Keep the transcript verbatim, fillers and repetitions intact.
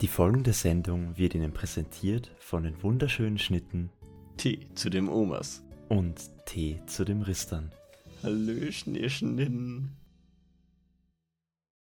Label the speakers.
Speaker 1: Die folgende Sendung wird Ihnen präsentiert von den wunderschönen Schnitten
Speaker 2: Tee zu dem Omas
Speaker 1: und Tee zu dem Ristern.
Speaker 2: Hallöchen, ihr Schnitten.